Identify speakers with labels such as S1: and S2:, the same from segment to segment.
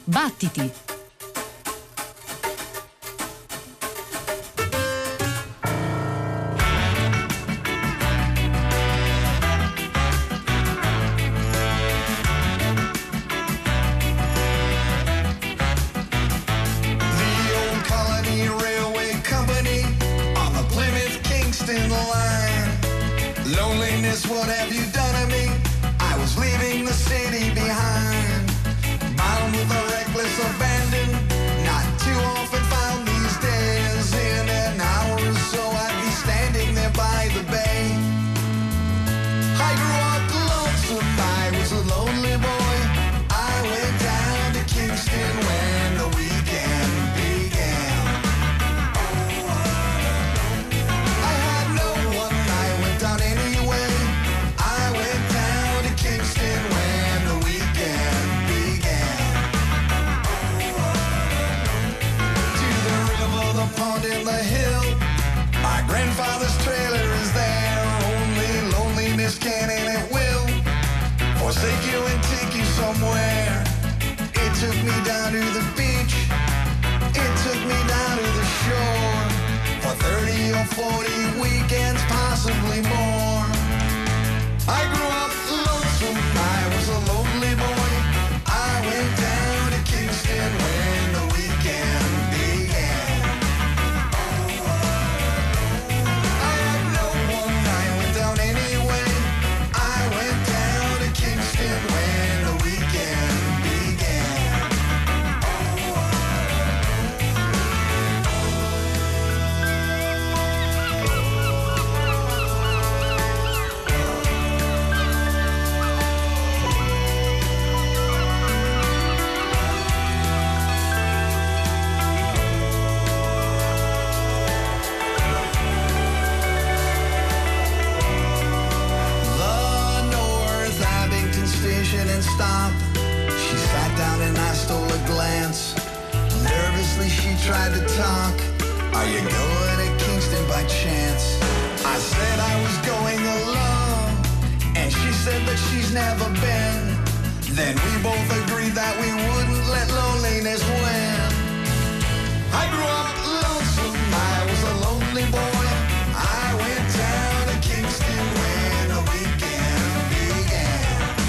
S1: Battiti!
S2: What have you done to me? I was leaving the city behind, bound with a reckless abandon. Not too often found these days. In an hour or so I'd be standing there by the bay. I grew up lonesome, I was a lonely boy. I went down to Kingston when the weekend began. I had no one, I went down anyway. Pond in the hill, my grandfather's trailer is there. Only loneliness can and it will forsake you and take you somewhere. It took me down to the beach, it took me down to the shore, for 30 or 40 weekends, possibly more. I grew up lonesome, I was a lonely boy. I went down to Kingston when the weekend began. When the weekend began. And stop. She sat down and I stole a glance. Nervously she tried to talk. Are you going to Kingston by chance? I said I was going alone, and she said that she's never been. Then we both agreed that we wouldn't let loneliness win. I grew up lonesome, I was a lonely boy. I went down to Kingston when the weekend began.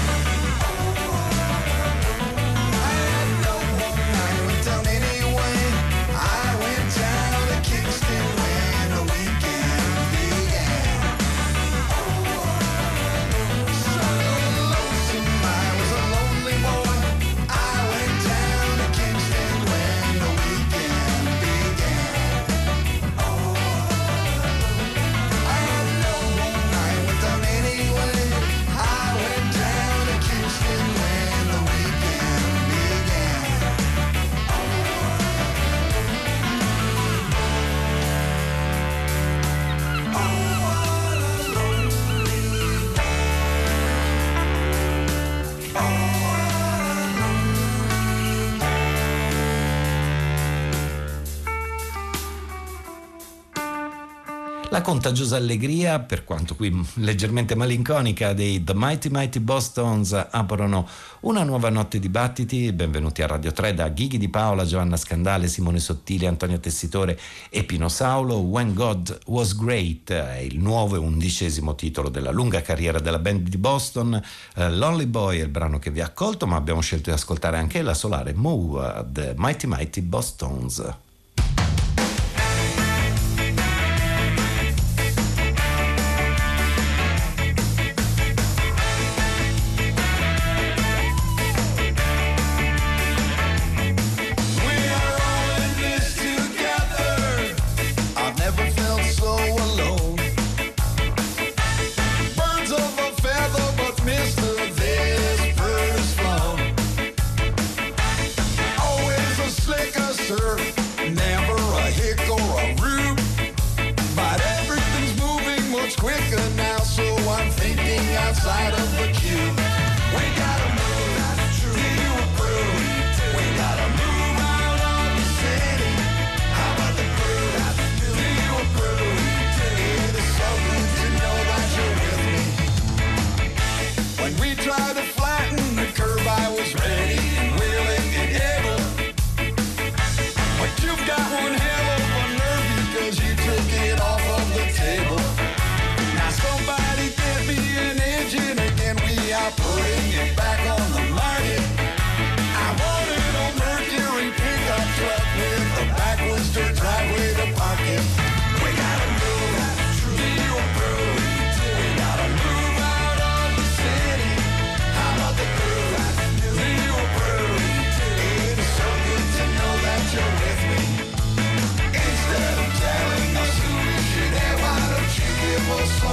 S3: La contagiosa allegria, per quanto qui leggermente malinconica, dei The Mighty Mighty Bosstones aprono una nuova notte di battiti. Benvenuti a Radio 3 da Ghighi Di Paola, Giovanna Scandale, Simone Sottile, Antonio Tessitore e Pino Saulo. When God Was Great è il nuovo e 11° titolo della lunga carriera della band di Boston. Lonely Boy è il brano che vi ha accolto, ma abbiamo scelto di ascoltare anche la solare Move, The Mighty Mighty Bosstones.
S2: Outside of the cube, we gotta move. Do you approve? We gotta move out of the city. How about the crew? Do you approve? It is so good to know that you're with me. When we tried to flatten the curve, I was ready and willing and able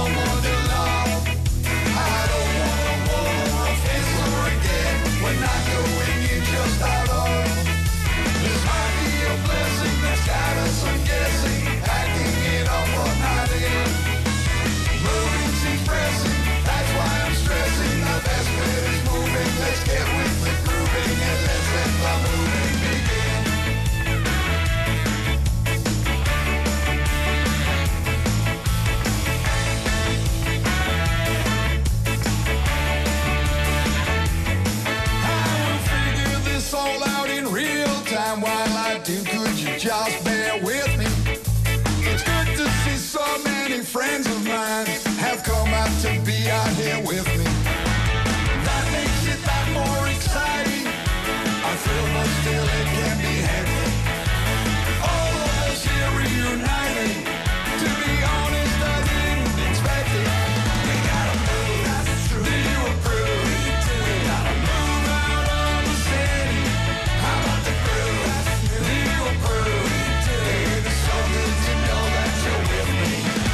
S2: someone to love. I don't wanna war or fence or again. We're not going in just out of. This might be a blessing that's got us, I'm guessing, acting it up or not in. Moving seems pressing, that's why I'm stressing. The best bet is moving, let's get with the grooving and let's let the moving begin. I will figure this all out in real time while I do. Could you just bear with me? It's good to see so many friends of mine have come out to be out here with me. That makes it that more exciting. I feel but still it can be hectic. All of us here reuniting. To be honest, I didn't expect it. We gotta move, that's true. Do you approve? We gotta move out of the city. How about the groove? Do you approve? It's so good to know that you're with me.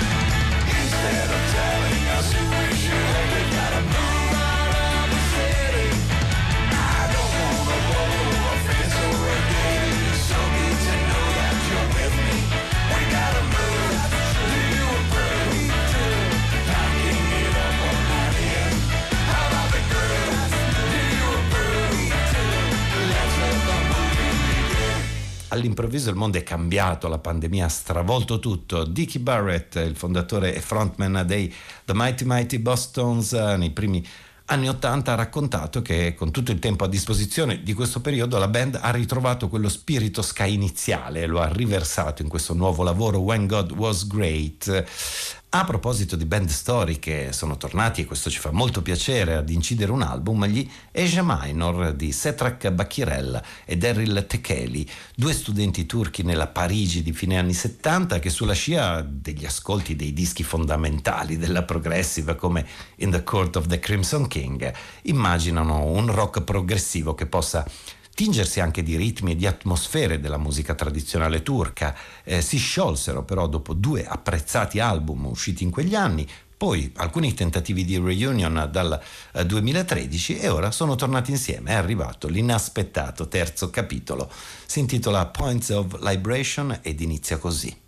S2: Instead of telling us who we should, we gotta move out of the city. I don't wanna roll or fence or a gate. It's so good to know that you're with me. We gotta move. Do you approve? Knocking it up or not in. How about the groove? Do you approve? Let's let the movie begin.
S3: All'improvviso il mondo è cambiato, la pandemia ha stravolto tutto. Dickie Barrett, il fondatore e frontman dei The Mighty Mighty Bosstones, nei primi anni '80 ha raccontato che con tutto il tempo a disposizione di questo periodo la band ha ritrovato quello spirito ska iniziale e lo ha riversato in questo nuovo lavoro When God Was Great. A proposito di band storiche, sono tornati, e questo ci fa molto piacere, ad incidere un album, gli Asia Minor di Setrak Bakirel e Daryl Tekeli, due studenti turchi nella Parigi di fine anni 70 che sulla scia degli ascolti dei dischi fondamentali della progressive come In the Court of the Crimson King immaginano un rock progressivo che possa tingersi anche di ritmi e di atmosfere della musica tradizionale turca. Si sciolsero però dopo due apprezzati album usciti in quegli anni, poi alcuni tentativi di reunion dal 2013 e ora sono tornati insieme. È arrivato l'inaspettato terzo capitolo, si intitola Points of Liberation ed inizia così.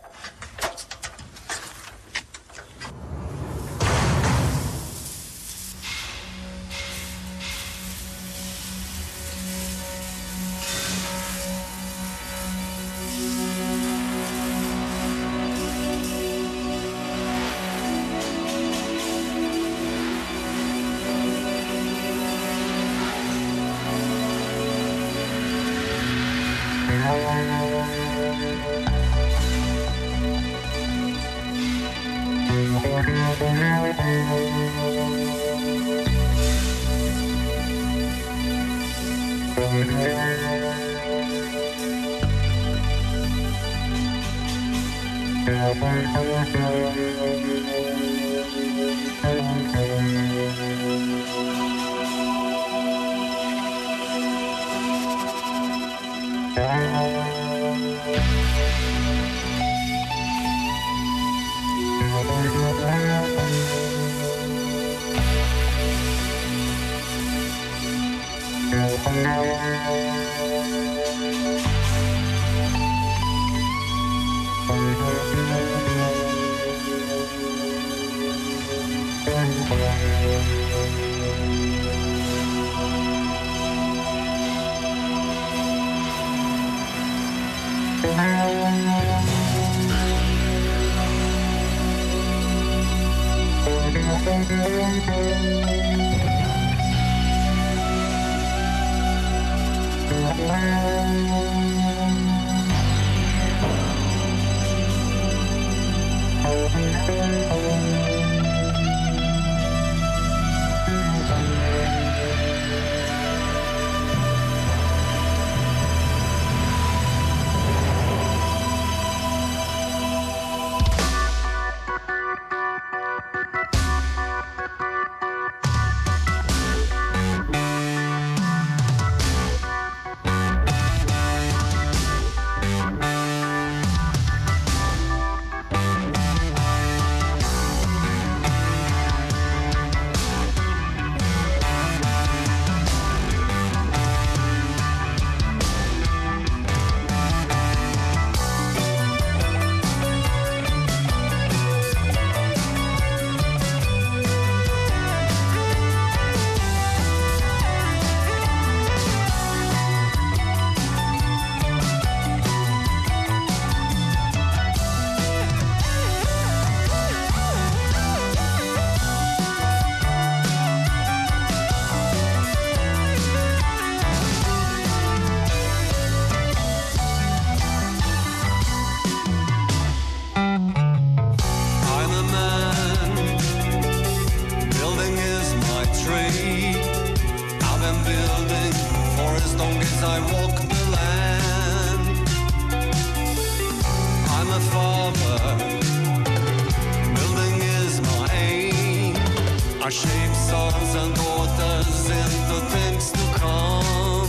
S1: Our shapes, sons and daughters into things to come.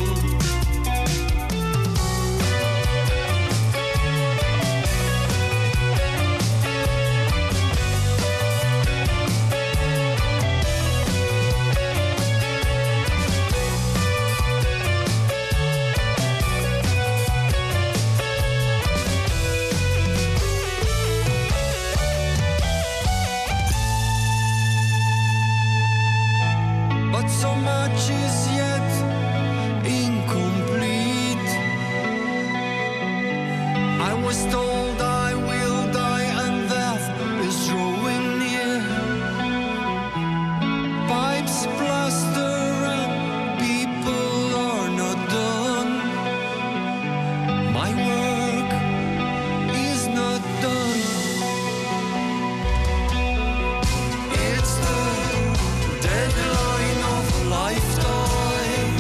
S1: So much is yet incomplete. I was told I will die and death is drawing near. Pipes, plaster and people are not done. My work is not done. It's the deadline of lifetime,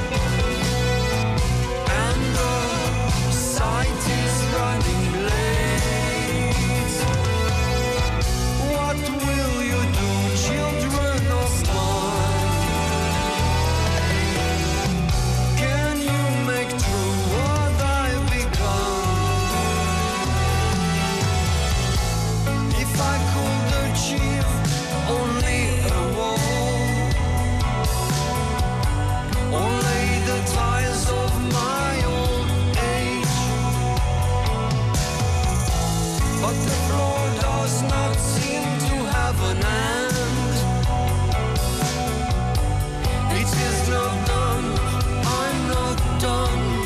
S1: and the sight is running late. What will you do, children of mine? Can you make true what I've begun? If I could achieve only a wall, or lay the ties of my old age, but the floor does not seem to have an end. It is not done, I'm not done.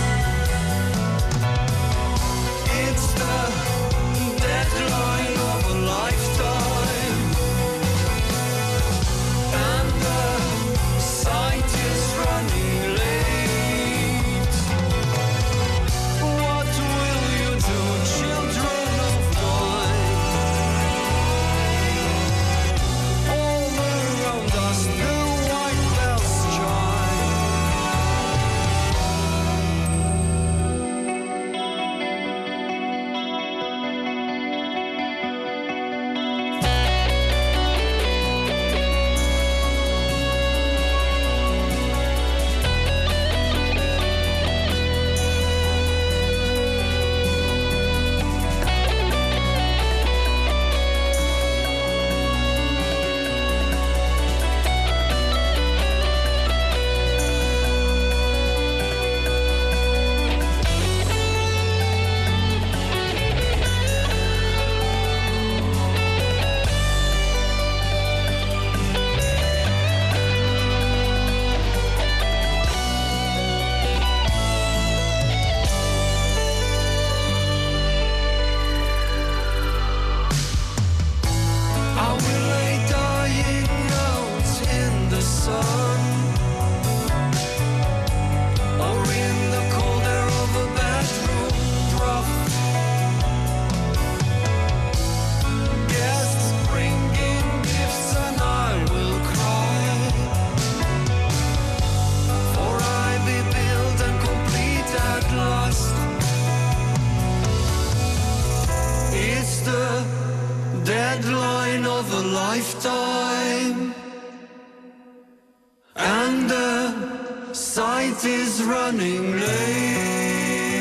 S1: It's the deadline of a lifetime, and the sight is running late. What will you do, children of mine? All around us the white bells chime. I will lay dying out in the sun, or in the cold air of a bedroom trough. Guests bringing gifts and I will cry, for I be built and complete at last. It's the deadline of a lifetime, and the sight is running late.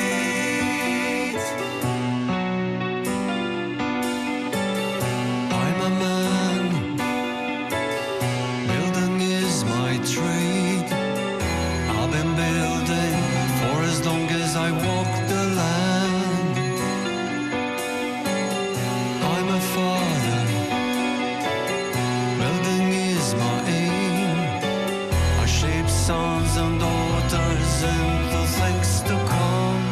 S1: I'm a man, building is my trade. I've been building for as long as I walk the land. I'm a father, building is my aim. I shape sons and daughters into things to come.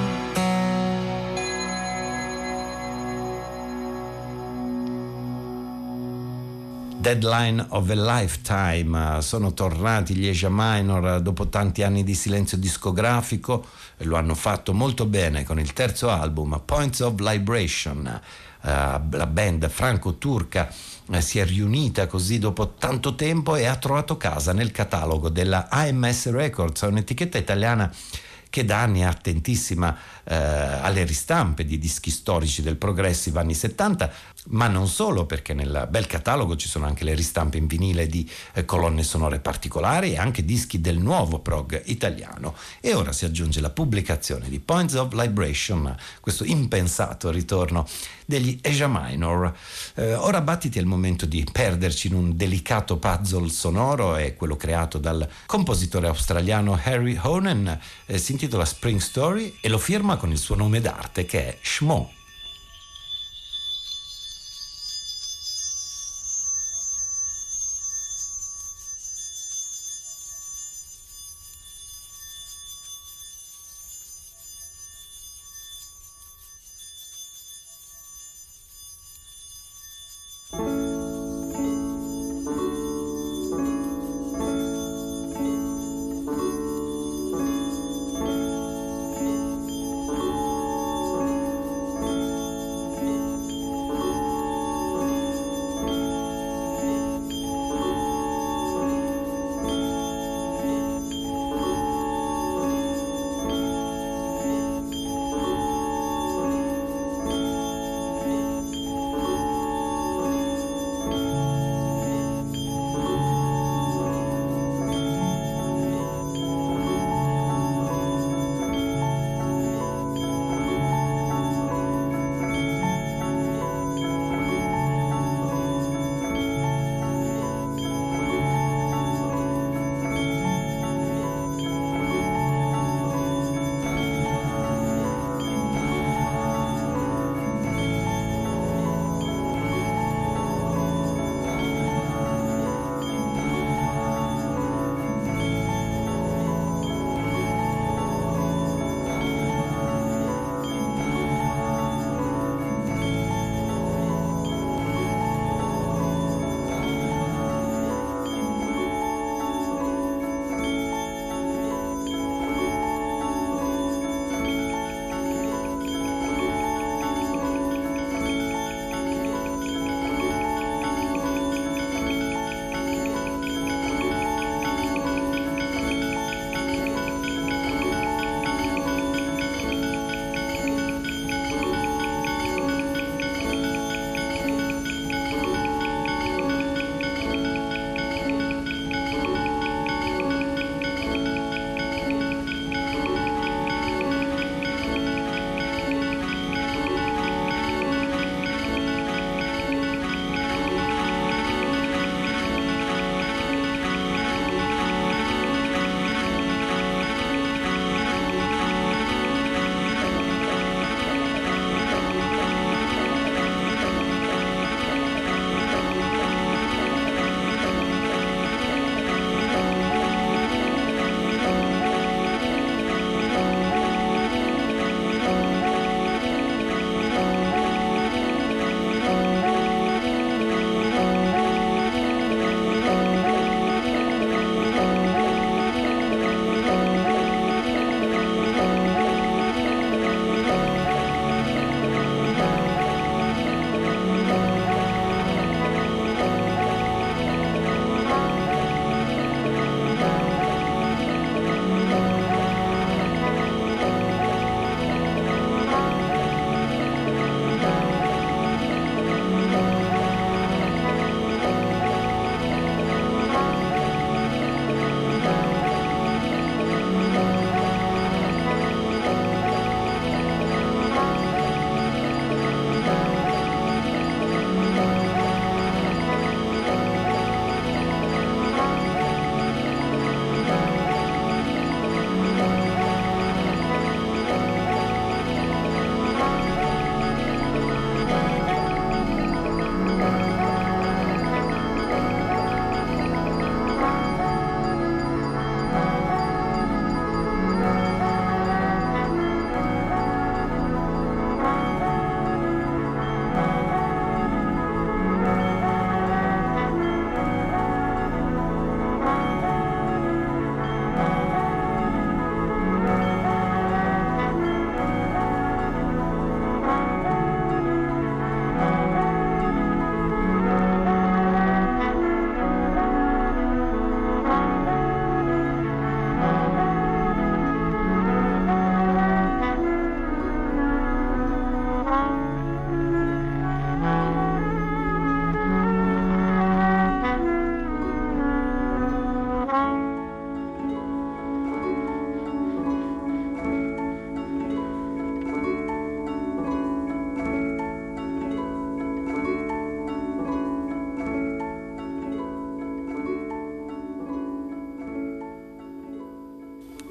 S3: Deadline of a Lifetime. Sono tornati gli Asia Minor dopo tanti anni di silenzio discografico e lo hanno fatto molto bene con il terzo album Points of Libration. La band franco-turca si è riunita così dopo tanto tempo e ha trovato casa nel catalogo della AMS Records, un'etichetta italiana che da anni è attentissima alle ristampe di dischi storici del progressive anni 70. ma non solo, perché nel bel catalogo ci sono anche le ristampe in vinile di colonne sonore particolari e anche dischi del nuovo prog italiano. E ora si aggiunge la pubblicazione di Points of Libration, questo impensato ritorno degli Asia Minor. Ora Battiti è il momento di perderci in un delicato puzzle sonoro, è quello creato dal compositore australiano Harry Honen, si intitola Spring Story e lo firma con il suo nome d'arte che è Shmo.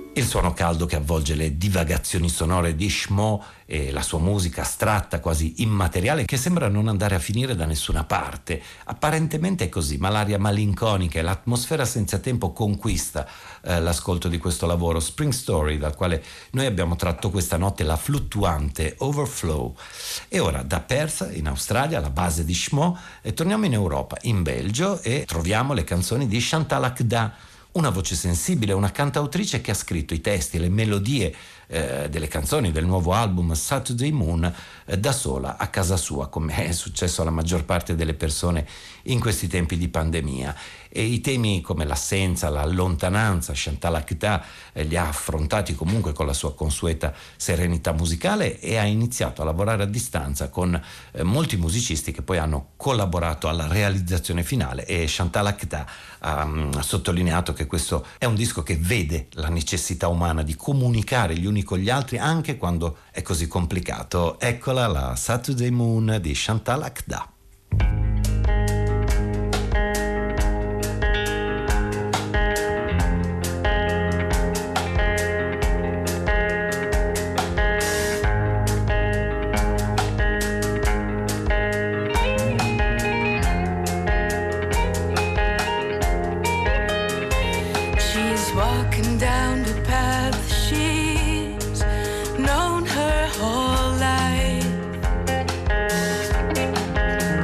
S3: Il suono caldo che avvolge le divagazioni sonore di Shmo e la sua musica astratta, quasi immateriale, che sembra non andare a finire da nessuna parte. Apparentemente è così, ma l'aria malinconica e l'atmosfera senza tempo conquista l'ascolto di questo lavoro, Spring Story, dal quale noi abbiamo tratto questa notte la fluttuante Overflow. E ora da Perth, in Australia, la base di Shmo, torniamo in Europa, in Belgio, e troviamo le canzoni di Chantal Akda, una voce sensibile, una cantautrice che ha scritto i testi e le melodie delle canzoni del nuovo album Saturday Moon da sola a casa sua, come è successo alla maggior parte delle persone in questi tempi di pandemia. E i temi come l'assenza, la lontananza, Chantal Akda li ha affrontati comunque con la sua consueta serenità musicale e ha iniziato a lavorare a distanza con molti musicisti che poi hanno collaborato alla realizzazione finale, e Chantal Akda ha sottolineato che questo è un disco che vede la necessità umana di comunicare gli uni con gli altri anche quando è così complicato. Eccola la Saturday Moon di Chantal Akda.
S4: Walking down the path she's known her whole life.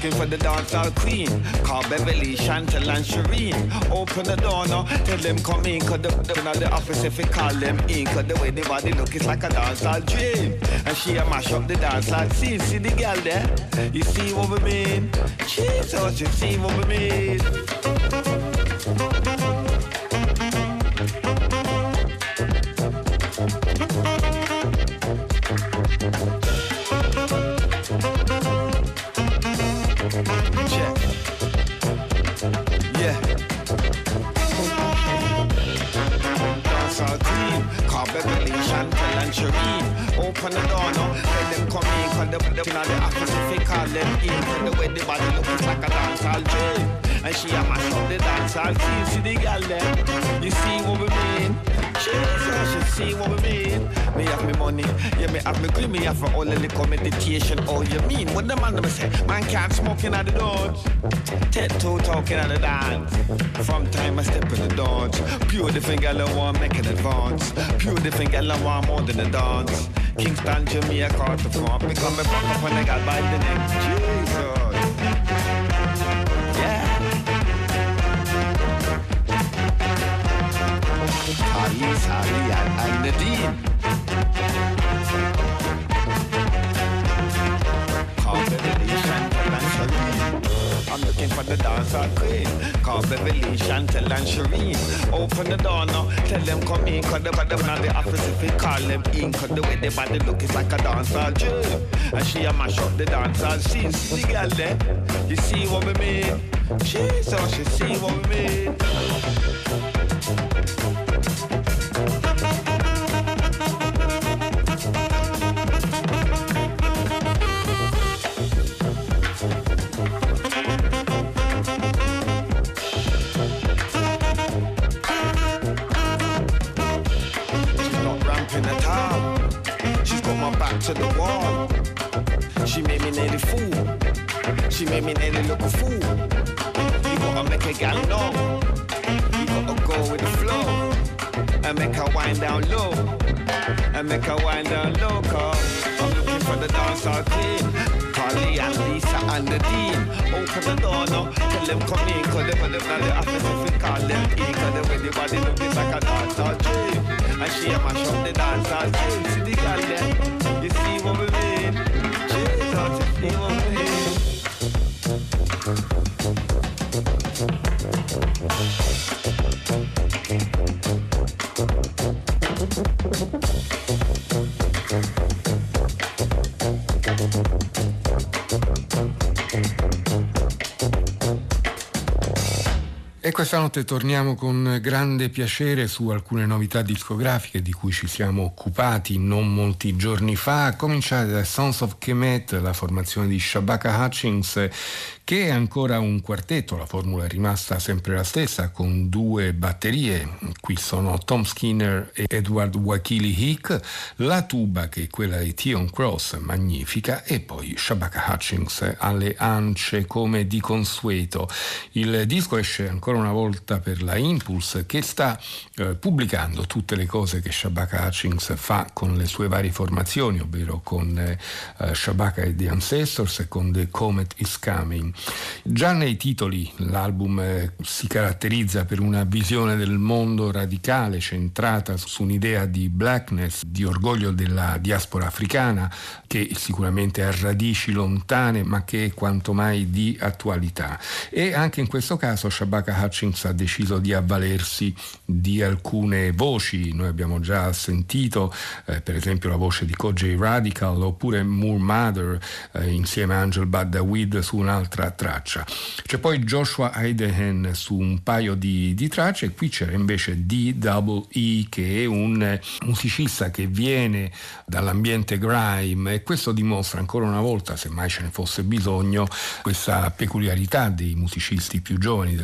S5: looking for the dancehall queen. Call Beverly, Chantel and Shireen. Open the door now, tell them come in. Cause they're not the office if we call them in. Cause the way the body look is like a dancehall dream. And she a mash up the dancehall scene. See the girl there? You see what we mean? Jesus, you see what we mean? Beverly, Chantel and Shireen. Open the door now, let them come in. Cause the office if we call them in. Cause the way the body looks like a dancehall dream. And she a mash up the dancehall scene. See the girl there? You see what we mean? Jesus, you see what we mean? Me have me money, yeah, me have me green. Me have all the liquor meditation. Oh, you mean? What the man say? Man can't smoke in at the doors. Tattoo talking at the dance. From time I step in the dance. Pure different girl I want make an advance. Pure different girl I want more than a dance. Kingston, Jamaica, caught the front. Become a fuck up when I got by the neck. Jesus. Yeah. Ali, and Nadine. Call Beverly, Chantel and Shireen. I'm looking for the dancehall queen. Call Beverly, Chantel and Shireen. Open the door now, tell them come in. Cause the body not the office if we call them in. Cause the way the body look is like a dancehall dream. And she a mash up the dancehall scene. See the girl there? You see what we mean? Jesus, you see what we mean? To the wall. She made me nearly fool. She made me nearly look a fool. You gotta make a gal know. You gotta go with the flow. And make her wind down low. And make her wind down low. Cause I'm looking for the dancehall queen. Carly and Lisa and Nadine. Open the door now. Tell them come in. Cause they put them on the office if we call them in. Cause the way the body look is like a dancehall dream. And she a mash up the dancehall dream. See the girl there? You see what we mean? Jesus, you see what we mean?
S6: E questa notte torniamo con grande piacere su alcune novità discografiche di cui ci siamo occupati non molti giorni fa, a cominciare da Sons of Kemet, la formazione di Shabaka Hutchings, che è ancora un quartetto. La formula è rimasta sempre la stessa, con due batterie. Qui sono Tom Skinner e Edward Wakili Hick, la tuba che è quella di Theon Cross, magnifica, e poi Shabaka Hutchings alle ance come di consueto. Il disco esce ancora una volta per la Impulse, che sta pubblicando tutte le cose che Shabaka Hutchings fa con le sue varie formazioni, ovvero con Shabaka e The Ancestors e con The Comet is Coming. Già nei titoli l'album si caratterizza per una visione del mondo radicale, centrata su un'idea di blackness, di orgoglio della diaspora africana, che sicuramente ha radici lontane ma che è quanto mai di attualità. E anche in questo caso Shabaka Hutchings ha deciso di avvalersi di alcune voci. Noi abbiamo già sentito per esempio la voce di Kojey Radical, oppure Moore Mother insieme a Angel Badawid su un'altra traccia. C'è poi Joshua Idehen su un paio di tracce, e qui c'era invece D-Double-E, che è un musicista che viene dall'ambiente grime, e questo dimostra ancora una volta, se mai ce ne fosse bisogno, questa peculiarità dei musicisti più giovani della scena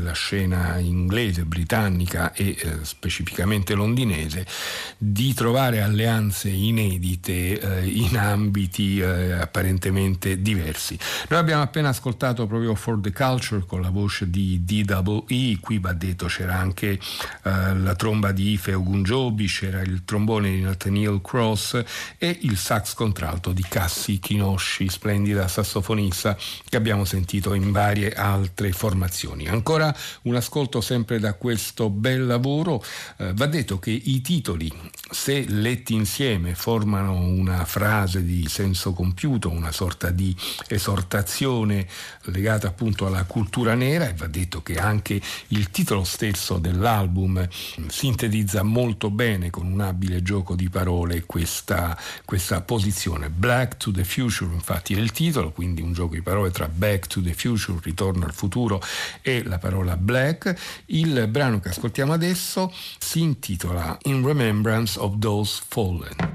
S6: scena inglese, britannica e specificamente londinese, di trovare alleanze inedite in ambiti apparentemente diversi. Noi abbiamo appena ascoltato proprio For the Culture con la voce di DWE, qui va detto c'era anche la tromba di Ife Ogunjobi, c'era il trombone di Nathaniel Cross e il sax contralto di Cassie Kinoshi, splendida sassofonista che abbiamo sentito in varie altre formazioni. Ancora un ascolto sempre da questo bel lavoro. Va detto che i titoli, se letti insieme, formano una frase di senso compiuto, una sorta di esortazione legata appunto alla cultura nera, e va detto che anche il titolo stesso dell'album sintetizza molto bene con un abile gioco di parole questa posizione. Black to the Future infatti è il titolo, quindi un gioco di parole tra Back to the Future, ritorno al futuro, e la parola black. Il brano che ascoltiamo adesso si intitola In Remembrance of Those Fallen.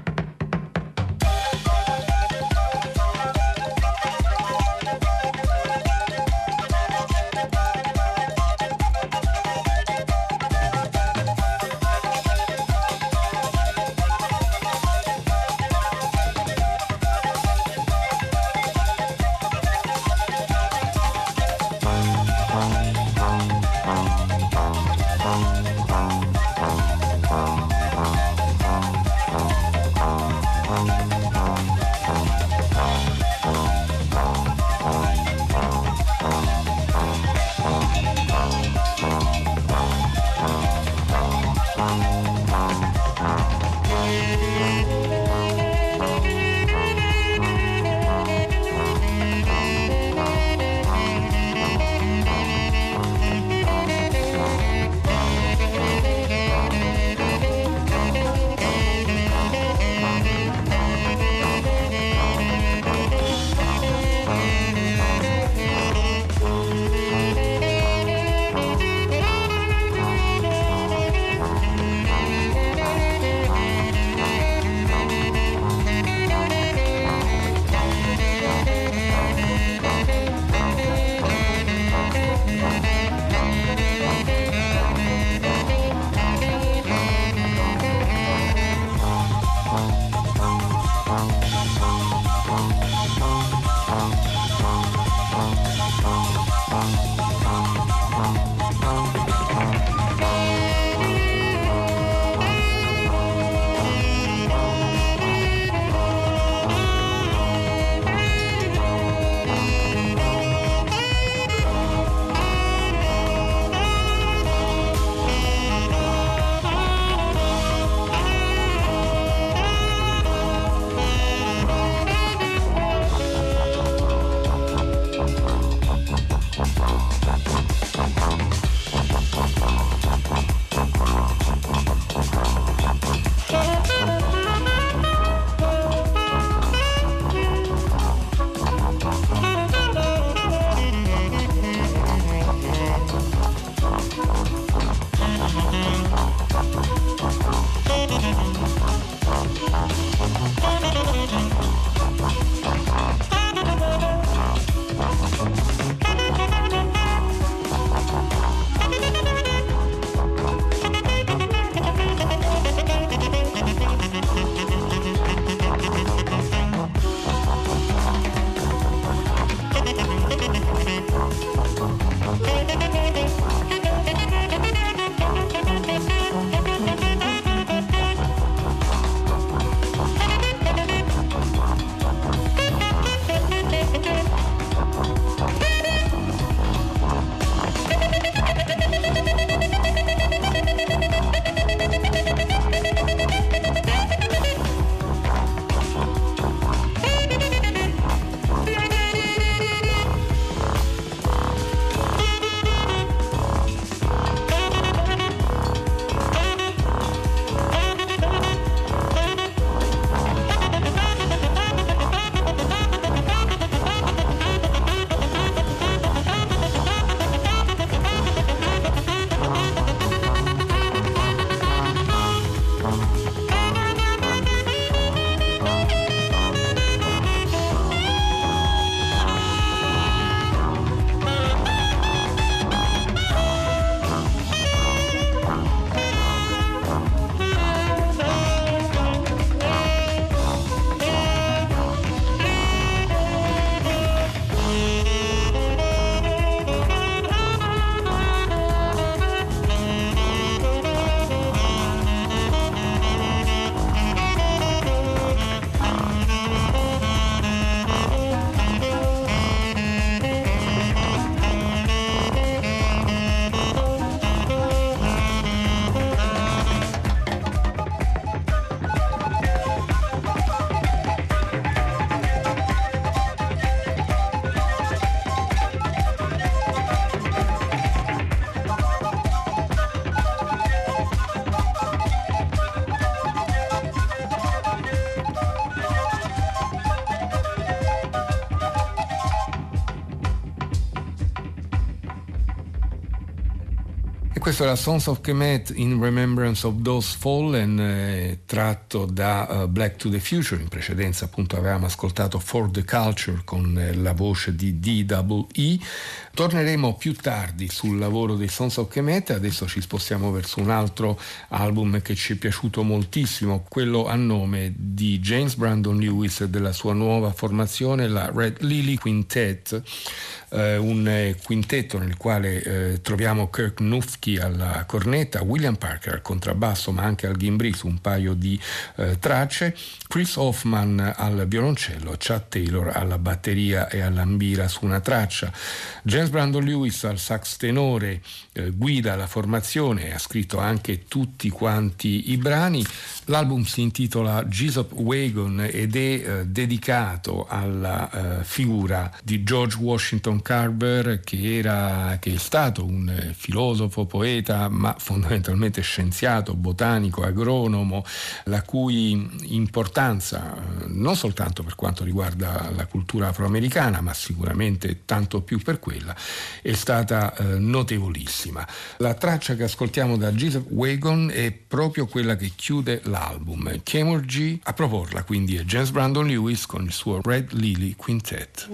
S6: Questo era Sons of Kemet in Remembrance of Those Fallen, tratto da Black to the Future. In precedenza appunto avevamo ascoltato For the Culture con la voce di D.E.E. Torneremo più tardi sul lavoro dei Sons of Kemet. Adesso ci spostiamo verso un altro album che ci è piaciuto moltissimo, quello a nome di James Brandon Lewis e della sua nuova formazione, la Red Lily Quintet. Un quintetto nel quale troviamo Kirk Nufke alla cornetta, William Parker al contrabbasso ma anche al ghimbri su un paio di tracce, Chris Hoffman al violoncello, Chad Taylor alla batteria e all'ambira su una traccia. James Brandon Lewis al sax tenore guida la formazione e ha scritto anche tutti quanti i brani. L'album si intitola Jesup Wagon ed è dedicato alla figura di George Washington Carver, che è stato un filosofo, poeta, ma fondamentalmente scienziato, botanico, agronomo, la cui importanza, non soltanto per quanto riguarda la cultura afroamericana, ma sicuramente tanto più per quella, è stata notevolissima. La traccia che ascoltiamo da Jesup Wagon è proprio quella che chiude l'album. Kemurji a proporla quindi è James Brandon Lewis con il suo Red Lily Quintet.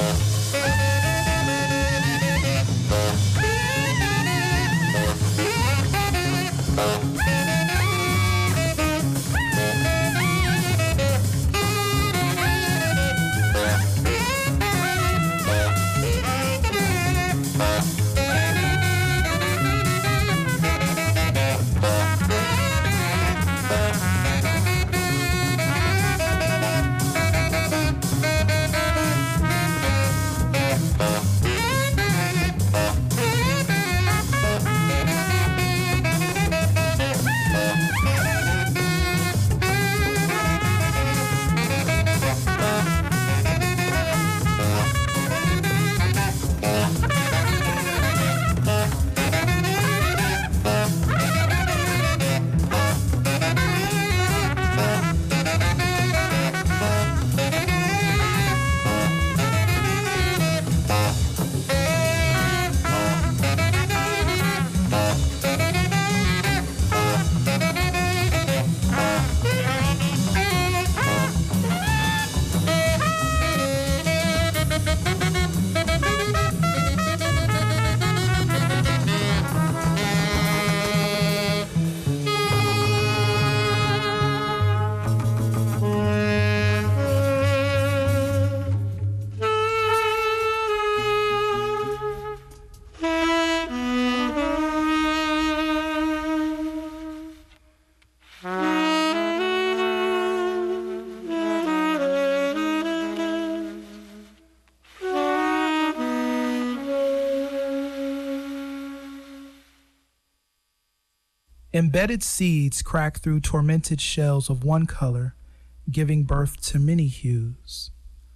S7: Embedded seeds crack through tormented shells of one color, giving birth to many hues.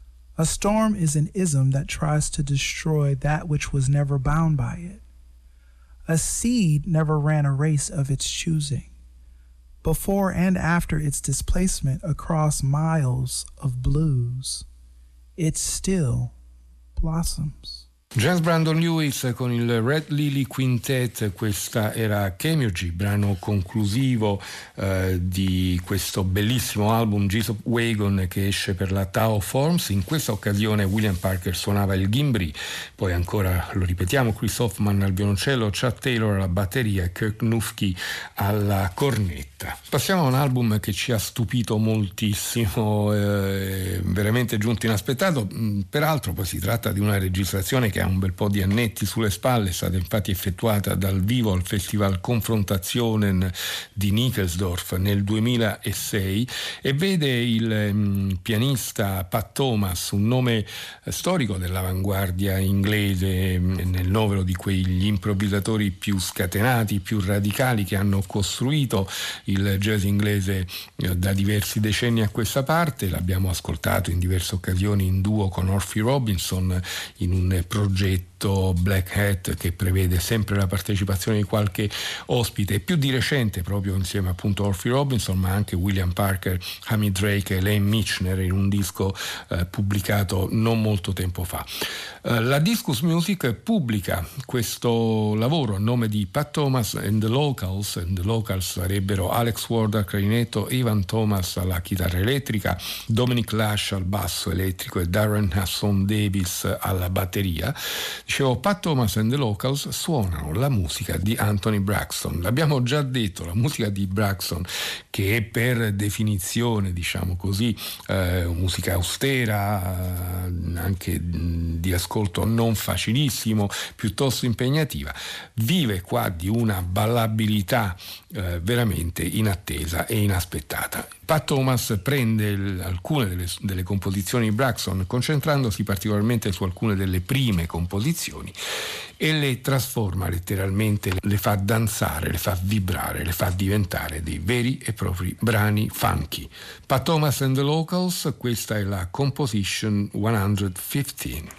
S7: A storm is an ism that tries to destroy that which was never bound by it. A seed never ran a race of its choosing. Before and after its displacement across miles of blues, it still blossoms.
S6: James Brandon Lewis con il Red Lily Quintet, questa era Chemurgy, brano conclusivo di questo bellissimo album Jesus Wagon che esce per la Tao Forms. In questa occasione William Parker suonava il gimbri, poi ancora lo ripetiamo Chris Hoffman al violoncello, Chad Taylor alla batteria e Kirk Nufke alla cornetta. Passiamo a un album che ci ha stupito moltissimo, veramente giunto inaspettato, peraltro poi si tratta di una registrazione che ha un bel po' di annetti sulle spalle, è stata infatti effettuata dal vivo al Festival Konfrontationen di Nickelsdorf nel 2006 e vede il pianista Pat Thomas, un nome storico dell'avanguardia inglese, nel novero di quegli improvvisatori più scatenati, più radicali che hanno costruito il jazz inglese da diversi decenni a questa parte. L'abbiamo ascoltato in diverse occasioni in duo con Orphy Robinson in un progetto Black Hat che prevede sempre la partecipazione di qualche ospite, più di recente proprio insieme appunto a Orphy Robinson, ma anche William Parker, Hamid Drake e Lane Michener in un disco pubblicato non molto tempo fa. La Discus Music pubblica questo lavoro a nome di Pat Thomas and the Locals sarebbero Alex Ward al clarinetto, Evan Thomas alla chitarra elettrica, Dominic Lash al basso elettrico e Darren Hasson Davis alla batteria. Dicevo, Pat Thomas and the Locals suonano la musica di Anthony Braxton. L'abbiamo già detto, la musica di Braxton, che è per definizione, diciamo così, musica austera, anche di ascolto non facilissimo, piuttosto impegnativa, vive qua di una ballabilità veramente inattesa e inaspettata. Pat Thomas prende alcune delle composizioni di Braxton, concentrandosi particolarmente su alcune delle prime composizioni, e le trasforma letteralmente, le fa danzare, le fa vibrare, le fa diventare dei veri e propri brani funky. Pat Thomas and the Locals, questa è la Composition 115.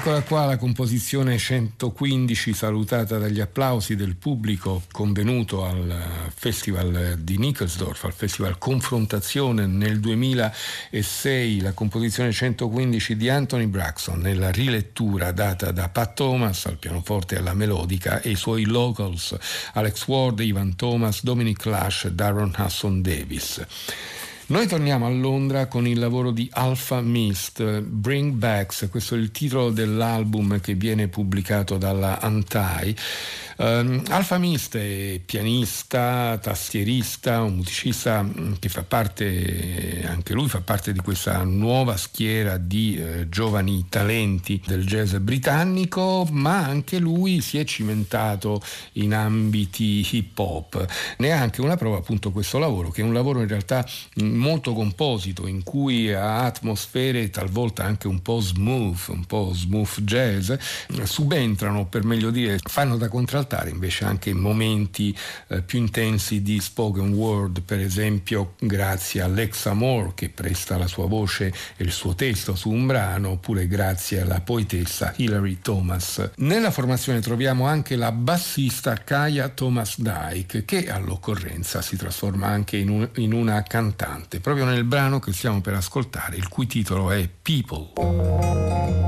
S6: Eccola qua la composizione 115, salutata dagli applausi del pubblico convenuto al Festival di Nickelsdorf, al Festival Confrontazione nel 2006, la composizione 115 di Anthony Braxton nella rilettura data da Pat Thomas al pianoforte e alla melodica e i suoi locals Alex Ward, Ivan Thomas, Dominic Lash e Darren Hudson Davis. Noi torniamo a Londra con il lavoro di Alpha Mist, Bring Backs, questo è il titolo dell'album che viene pubblicato dalla Antai. Alpha Mist è pianista, tastierista, un musicista che fa parte, anche lui fa parte di questa nuova schiera di giovani talenti del jazz britannico, ma anche lui si è cimentato in ambiti hip hop. Ne è anche una prova appunto questo lavoro, che è un lavoro in realtà molto composito, in cui ha atmosfere talvolta anche un po' smooth jazz, subentrano, per meglio dire, fanno da contraltare invece anche momenti più intensi di spoken word, per esempio grazie a Alexa Moore che presta la sua voce e il suo testo su un brano, oppure grazie alla poetessa Hilary Thomas. Nella formazione troviamo anche la bassista Kaya Thomas Dyke, che all'occorrenza si trasforma anche in una cantante, proprio nel brano che stiamo per ascoltare, il cui titolo è People.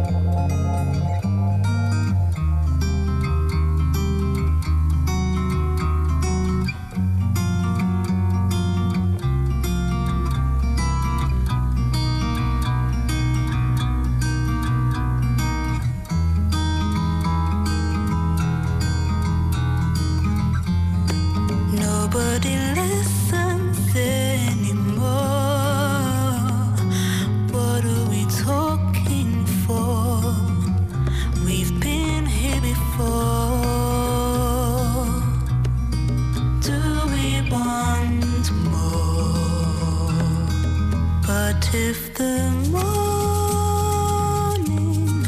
S4: Nobody listens anymore. What are we talking for? We've been here before. Do we want more? But if the morning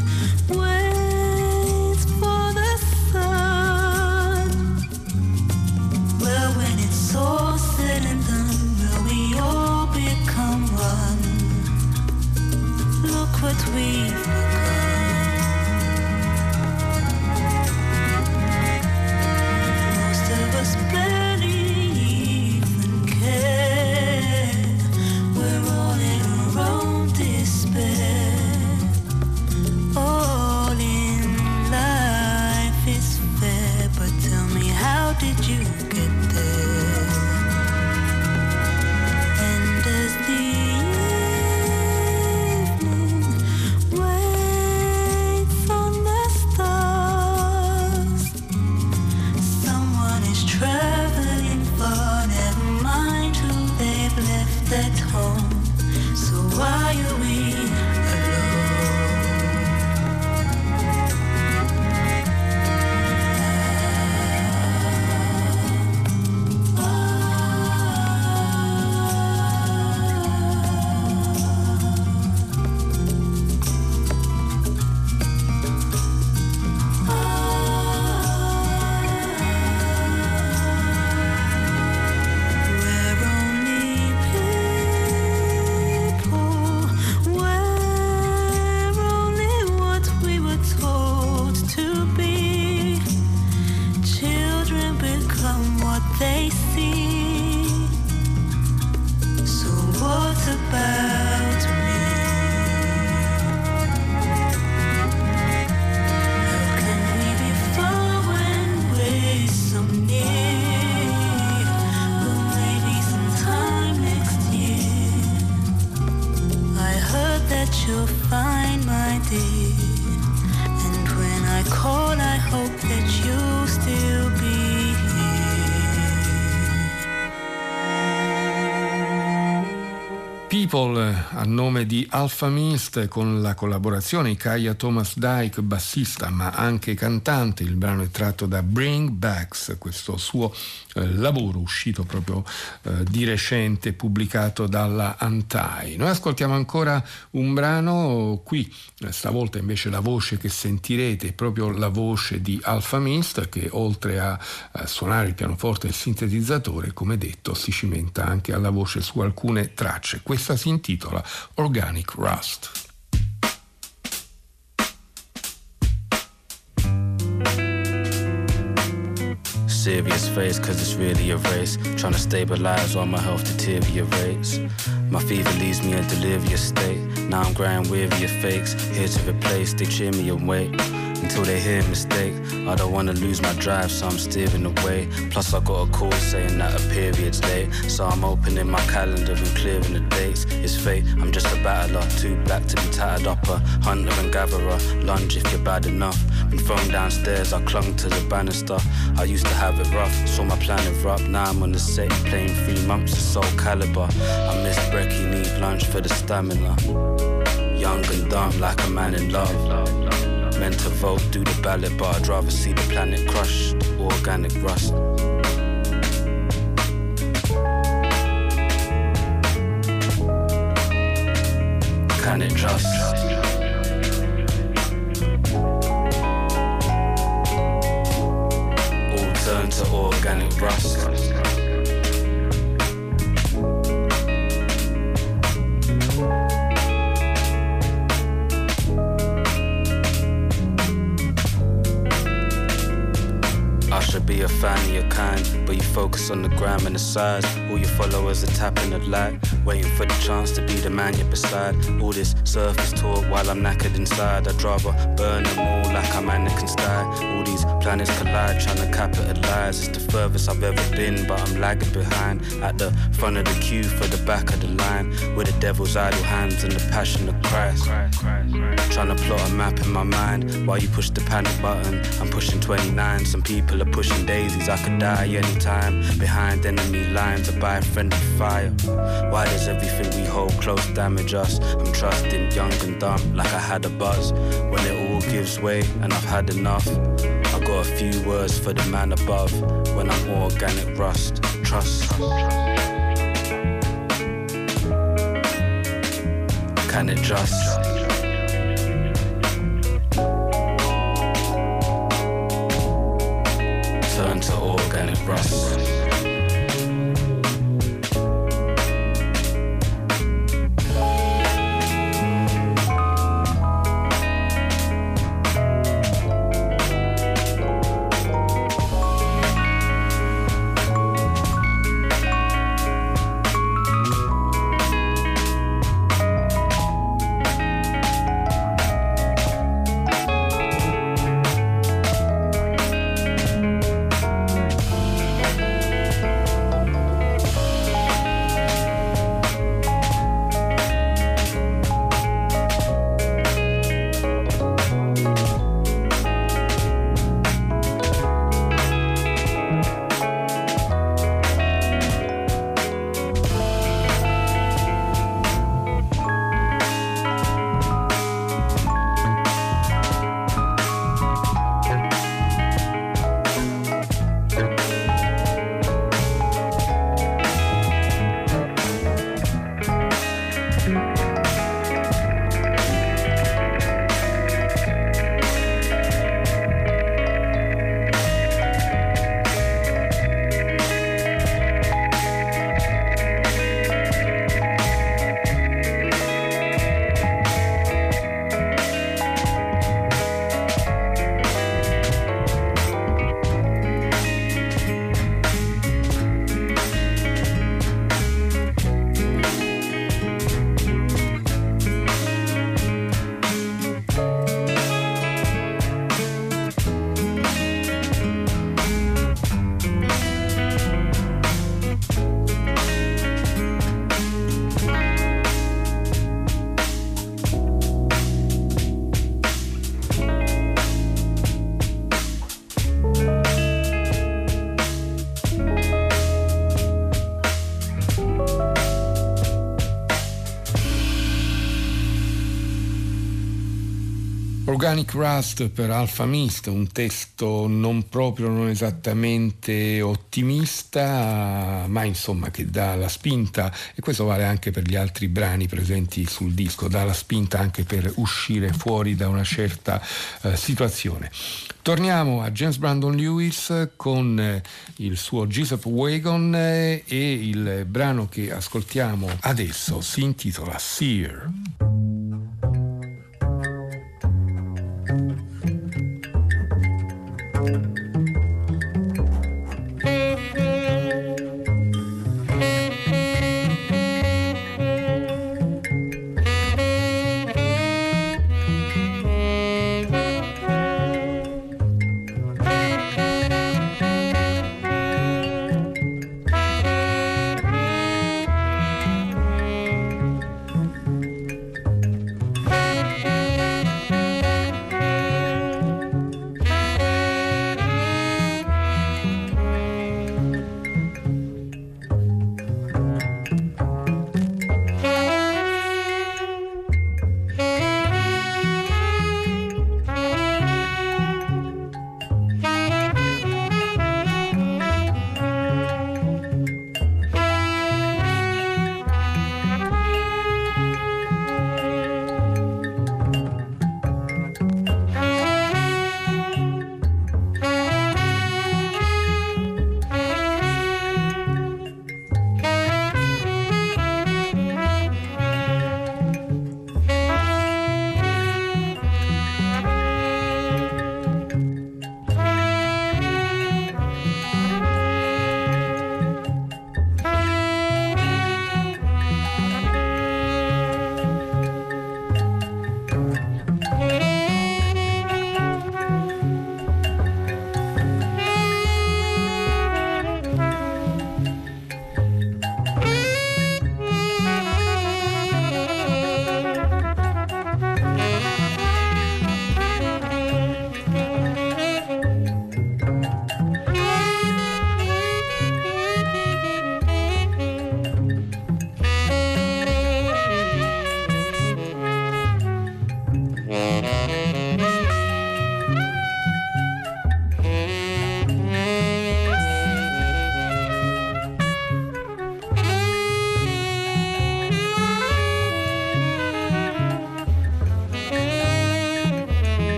S4: waits for the sun, well, when it's all said and done, will we all become one? Look what we've become. Most of us barely even care. We're all in our own despair. All in life is fair, but tell me, how did you get there? And as the evening waits on the stars, someone is traveling far, never mind who they've left at home. So why are we they see? So what about me? How can we be far when we're so near? Well, maybe sometime next year. I heard that you're fine, my dear, and when I call I hope that you'll still be
S6: People a nome di Alpha Mist, con la collaborazione di Kaya Thomas Dyke, bassista ma anche cantante. Il brano è tratto da Bring Backs, questo suo lavoro uscito proprio di recente, pubblicato dalla Antai. Noi ascoltiamo ancora un brano, qui stavolta invece la voce che sentirete è proprio la voce di Alpha Mist, che oltre a suonare il pianoforte e il sintetizzatore, come detto, si cimenta anche alla voce su alcune tracce. Questa si intitola Organic Rust.
S8: serious face, cause it's really a race. Trying to stabilize while my health deteriorates. My fever leaves me in delirious state. Now I'm growing weary of fakes. Here to replace, they cheer me and wait until they hear a mistake. I don't wanna lose my drive, so I'm steering away. Plus I got a call saying that a period's late, so I'm opening my calendar and clearing the dates. It's fate, I'm just a battler, too black to be tattered up. A hunter and gatherer, lunge if you're bad enough. Been thrown downstairs, I clung to the banister. I used to have it rough, saw my plan erupt. Now I'm on the set, playing 3 months of Soul Calibur. I miss brekkie, need lunch for the stamina. Young and dumb like a man in love. Meant to vote, do the ballot, but I'd rather see the planet crushed. Organic rust. Can it just? All turn to organic rust. Be a fan of your kind, but you focus on the gram and the size. All your followers are tapping the light, waiting for the chance to be the man you're beside. All this surface talk while I'm knackered inside. I'd rather burn them all like I'm Anakin Sky. All these planets collide, trying to capitalize. It's the furthest I've ever been, but I'm lagging behind. At the front of the queue for the back of the line, with the devil's idle hands and the passion of Christ. Trying to plot a map in my mind while you push the panic button. I'm pushing 29, some people are pushing daisies. I could die anytime behind enemy lines or by friendly fire. Why does everything we hold close damage us? I'm trusting young and dumb like I had a buzz. When it all gives way and I've had enough, I got a few words for the man above. When I'm organic rust, trust. Can it just? Turn to organic rust.
S6: Organic Rust per Alfa Mist, un testo non esattamente ottimista, ma insomma che dà la spinta, e questo vale anche per gli altri brani presenti sul disco, dà la spinta anche per uscire fuori da una certa situazione. Torniamo a James Brandon Lewis con il suo Jessup Wagon e il brano che ascoltiamo adesso si intitola Seer.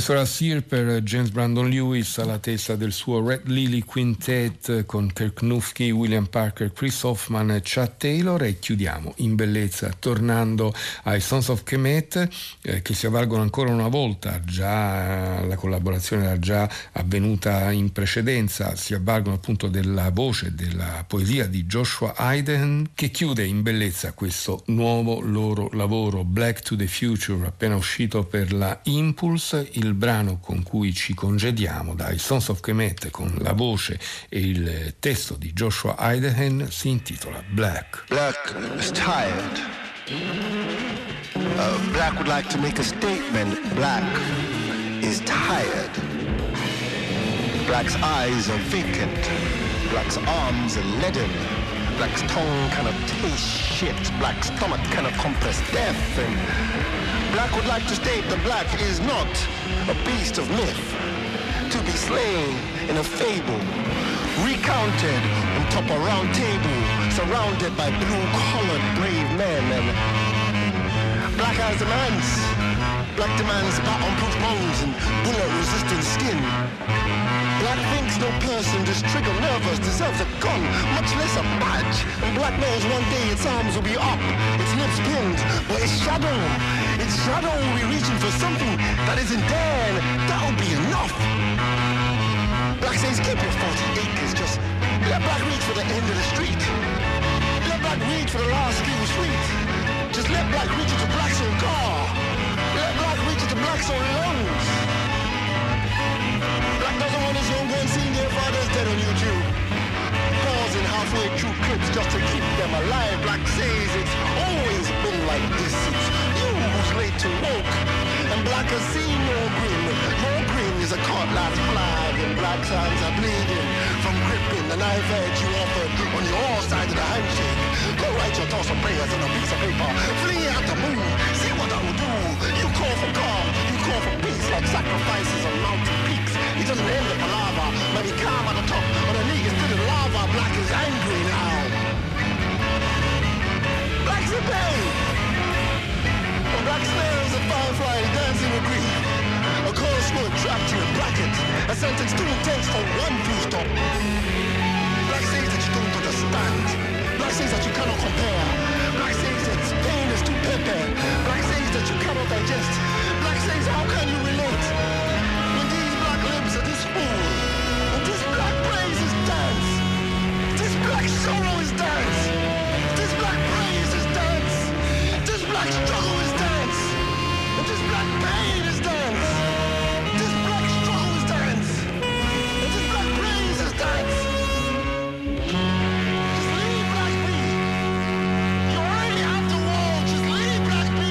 S6: Questo era Sear per James Brandon Lewis alla testa del suo Red Lily Quintet con Kirk Knufke, William Parker, Chris Hoffman e Chad Taylor, e chiudiamo in bellezza tornando ai Sons of Kemet che si avvalgono ancora una volta, già la collaborazione era già avvenuta in precedenza, si avvalgono appunto della voce, della poesia di Joshua Hayden, che chiude in bellezza questo nuovo loro lavoro Black to the Future, appena uscito per la Impulse. Il brano con cui ci congediamo dai Sons of Kemet con la voce e il testo di Joshua Hayden si intitola Black.
S9: Black is tired. Black would like to make a statement. Black is tired. Black's eyes are vacant. Black's arms are leaden. Black's tongue cannot taste shit. Black's stomach cannot compress death. And Black would like to state that Black is not a beast of myth, to be slain in a fable, recounted on top of a round table, surrounded by blue-collared brave men. And Black has demands. Black demands bat-on-proof bones and bullet-resistant skin. Black thinks no person just trigger nervous deserves a gun, much less a badge. And Black knows one day its arms will be up, its lips pinned, but its shadow will be reaching for something that isn't there, and that'll be enough. Black says keep your 40 acres, just let Black reach for the end of the street. Let Black reach for the last few sweet. Just let Black reach into Black's own car. Let Black reach into Black's own lungs. Black doesn't want his young ones seeing their fathers dead on YouTube. Pausing halfway through clips just to keep them alive. Black says it's always been like this. It's you who's late to woke. And Black has seen your grin. Your grin is a cutlass flag. And Black's hands are bleeding from gripping the knife edge you offered on your side of the handshake. Go write your thoughts and prayers on a piece of paper. Flee out the moon. See what I will do. You call for calm. You call for peace like sacrifices on mountain peaks. He doesn't end the palaver, but he calm at the top. But the league is still in lava. Black is angry now. Black's in pain. And Black smells a firefly dancing with grief. A cold smoke trapped in a bracket. A sentence too intense for one full stop. Black says that you don't understand. Black says that you cannot compare. Black says that pain is too pepper. Black says that you cannot digest. Black says how can you relate? This fool, and this Black praise is dance. This Black sorrow is dance. This Black praise is dance. This Black struggle is dance. And this Black pain is dance. This Black struggle is dance. And this Black praise is dance. Just leave Black be. You already have the wall. Just leave Black be.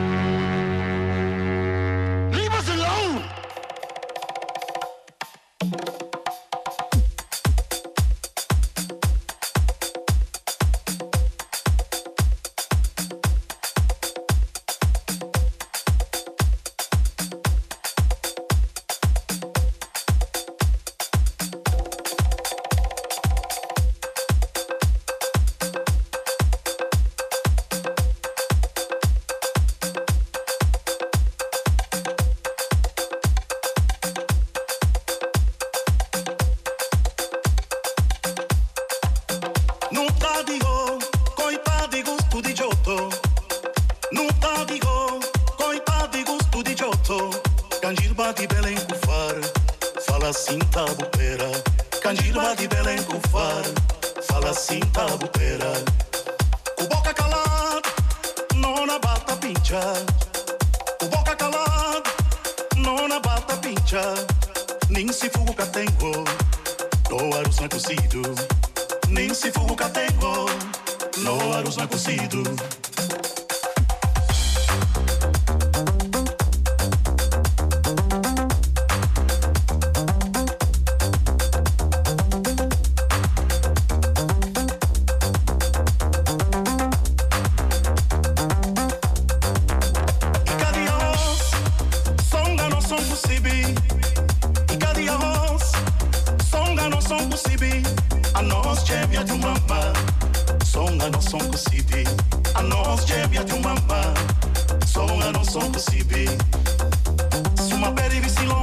S9: Leave us alone.
S10: Songa non son possibili. Su ma per i vicino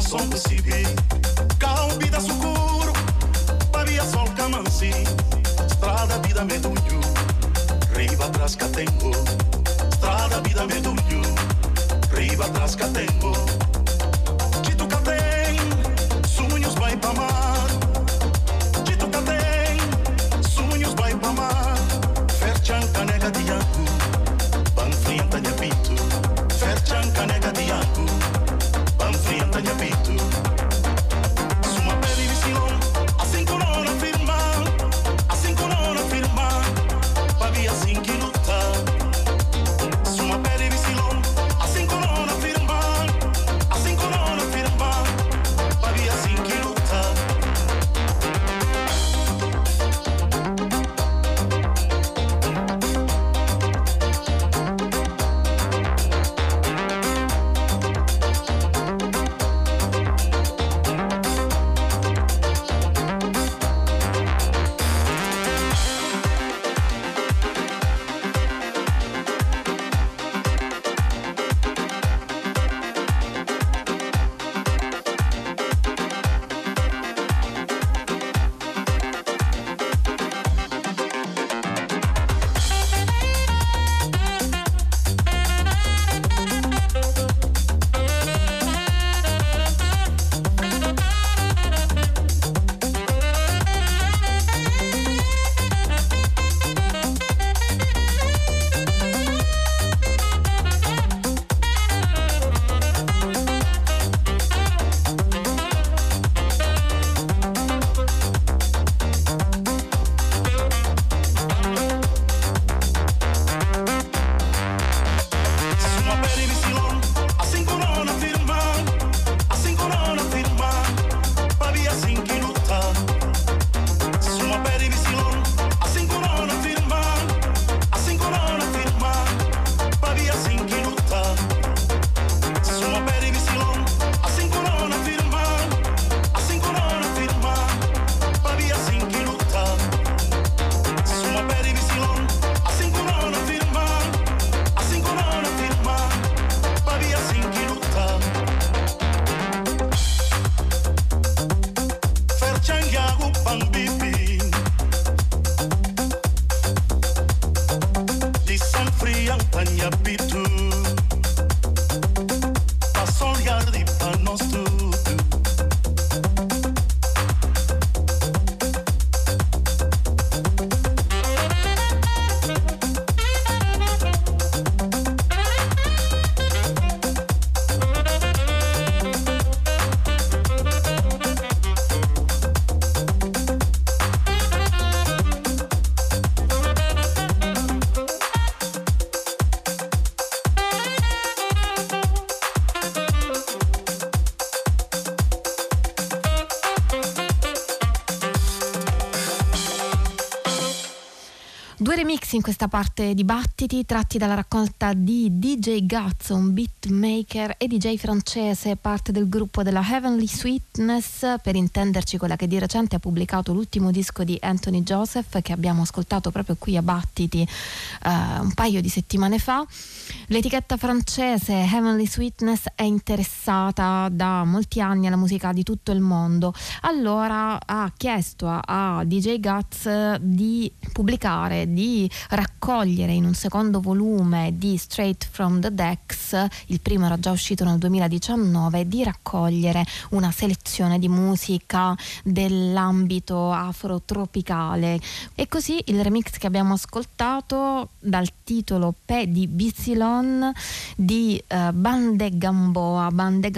S10: som possibile. Cal vida sucuro, pavia sol camansi, strada vida medulho, riba atrás catengo, strada vida medulho, riba atrás catengo. Dito que tem, sonhos vai pra mar. Dito que tem, sonhos vai pra mar. Ferchan canega de iacu, banfrienta de apito. Ferchan canega de iacu, banfrienta de apito. Suma pele visilon, assim que não afirma, assim que não afirma, pavia assim que luta. Suma pele visilon, assim que não afirma, assim que não afirma, pavia assim que luta.
S11: Due remix in questa parte di Battiti tratti dalla raccolta di DJ Guts, un beatmaker e DJ francese, parte del gruppo della Heavenly Sweetness, per intenderci quella che di recente ha pubblicato l'ultimo disco di Anthony Joseph che abbiamo ascoltato proprio qui a Battiti un paio di settimane fa. L'etichetta francese Heavenly Sweetness è interessata da molti anni alla musica di tutto il mondo, allora ha chiesto a DJ Guts di pubblicare, di raccogliere in un secondo volume di Straight from the Decks, il primo era già uscito nel 2019, di raccogliere una selezione di musica dell'ambito afrotropicale. E così il remix che abbiamo ascoltato dal titolo Pe di Bicilon di Bande Gamboa,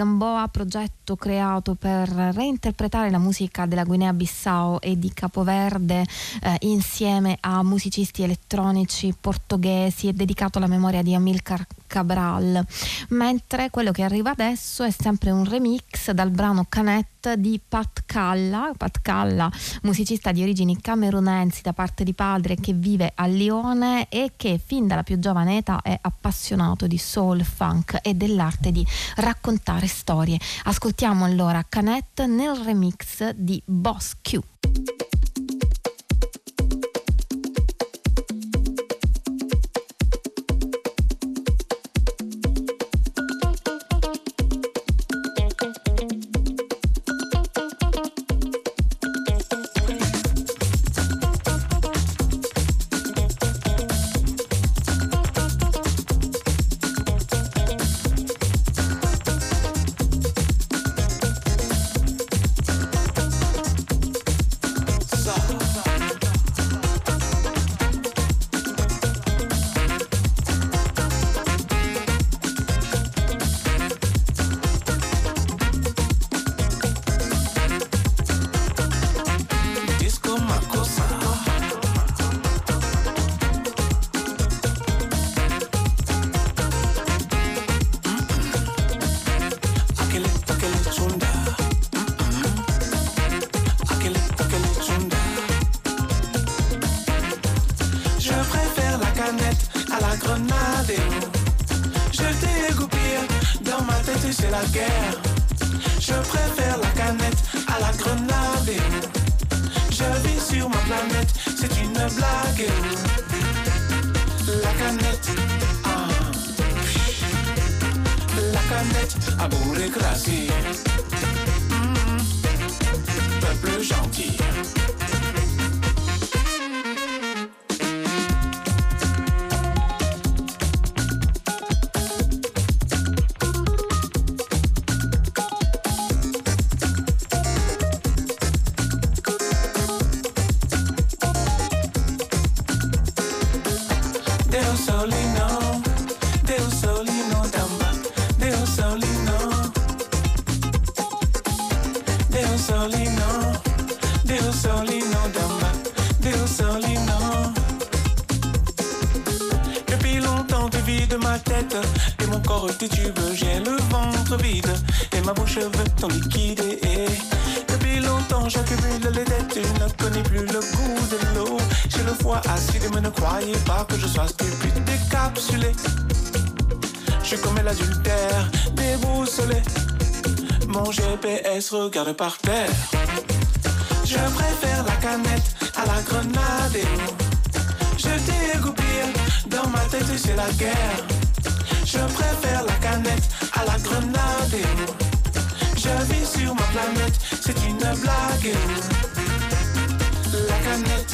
S11: progetto creato per reinterpretare la musica della Guinea-Bissau e di Capoverde insieme a musicisti elettronici portoghesi, e dedicato alla memoria di Amilcar Cabral. Mentre quello che arriva adesso è sempre un remix dal brano Canet di Pat Calla, musicista di origini camerunensi da parte di padre, che vive a Lione e che fin dalla più giovane età è appassionato di soul, funk e dell'arte di raccontare storie. Ascoltiamo allora Canet nel remix di Boss Q.
S12: tête c'est la guerre. Je préfère la canette à la grenade. Je vis sur ma planète, c'est une blague. La canette, la canette à bourré-crasé. Peuple gentil.
S13: Et mon corps titube, j'ai le ventre vide et ma bouche veut ton liquide. Et depuis longtemps j'accumule les dettes, je ne connais plus le goût de l'eau. J'ai le foie acide, mais ne croyez pas que je sois stupide, décapsulé. Je suis comme l'adultère, déboussolé. Mon GPS regarde par terre. Je préfère la canette à la grenade. Je dégoupille, dans ma tête c'est la guerre. Je préfère la canette à la grenade. Je vis sur ma planète, c'est une blague. La canette,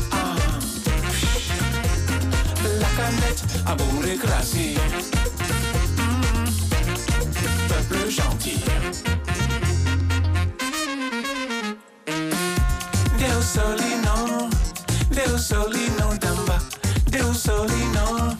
S13: la canette à bourré-crasé. Peuple gentil. Deus solino, Deus solino d'amba, Deus solino.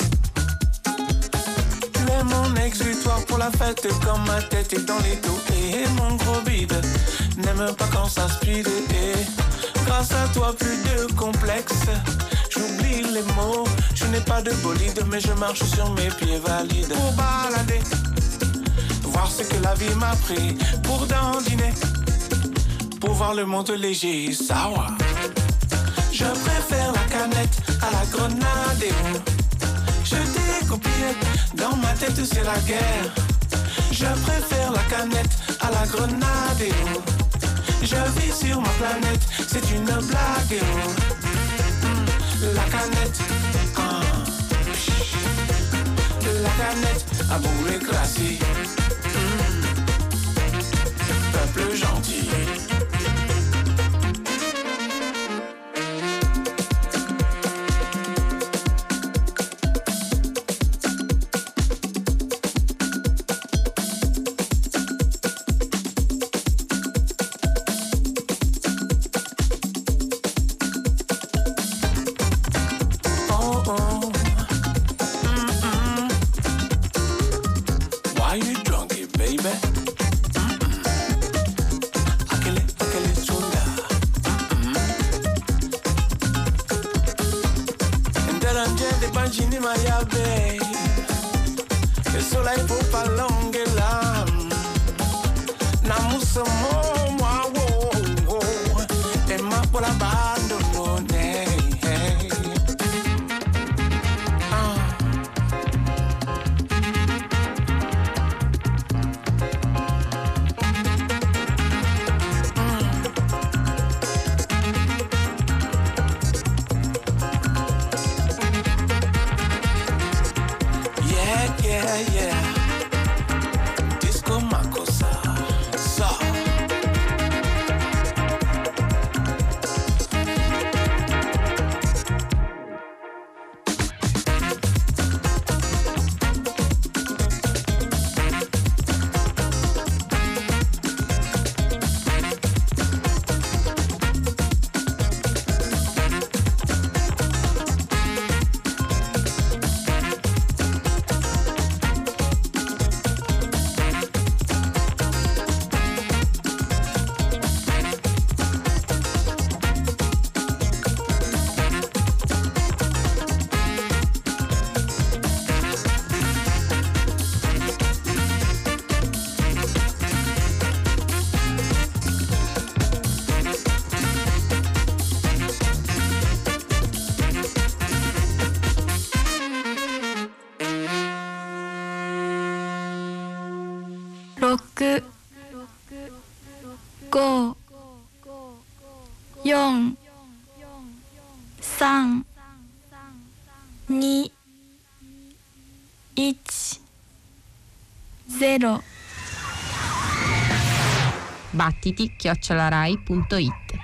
S13: Mon exutoire pour la fête, comme ma tête est dans les dos. Et mon gros bide n'aime pas quand ça speed. Et grâce à toi plus de complexe, j'oublie les mots. Je n'ai pas de bolide, mais je marche sur mes pieds valides. Pour balader, voir ce que la vie m'a pris. Pour dandiner, pour voir le monde léger, sawa. Je préfère la canette à la grenade. Je découpille, dans ma tête c'est la guerre. Je préfère la canette à la grenade. Je vis sur ma planète, c'est une blague. La canette, la canette à bourré-crasé. Peuple gentil.
S12: Le soleil faut pas longuer là. Namusa moi wo et ma pour la abandonner. Yeah. Disco Makosa. So.
S14: 6 5 4 3 2 1 0
S15: battiti@rai.it